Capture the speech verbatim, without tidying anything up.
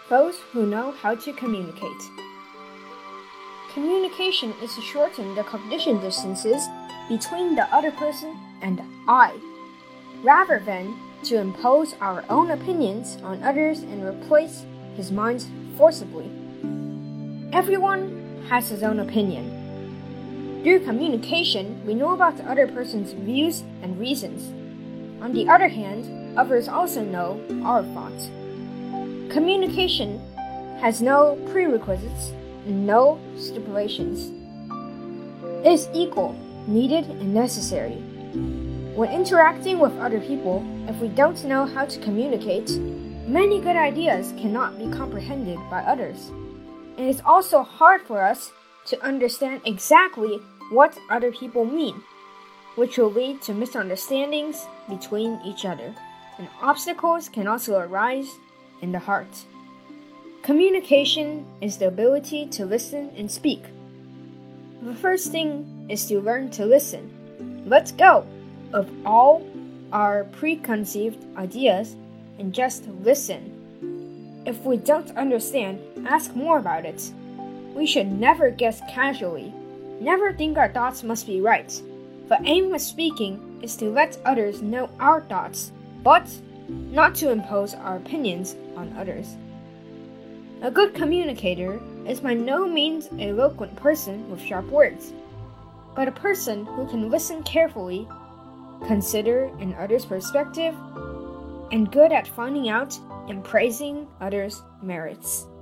those who know how to communicate. Communication is to shorten the cognition distances between the other person and I, rather than to impose our own opinions on others and replace his minds forcibly. Everyone has his own opinion. Through communication, we know about the other person's views and reasons. On the other hand, others also know our thoughts. Communication has no prerequisites and no stipulations. It is equal, needed, and necessary. When interacting with other people, if we don't know how to communicate, many good ideas cannot be comprehended by others. And it's also hard for us to understand exactly what other people mean, which will lead to misunderstandings between each other, and obstacles can also arise in the heart. Communication is the ability to listen and speak. The first thing is to learn to listen. Let's go of all our preconceived ideas and just listen. If we don't understand, ask more about it. We should never guess casually. Never think our thoughts must be right. The aim of speaking is to let others know our thoughts, but not to impose our opinions on others. A good communicator is by no means an eloquent person with sharp words, but a person who can listen carefully, consider an other's perspective, and good at finding out and praising others' merits.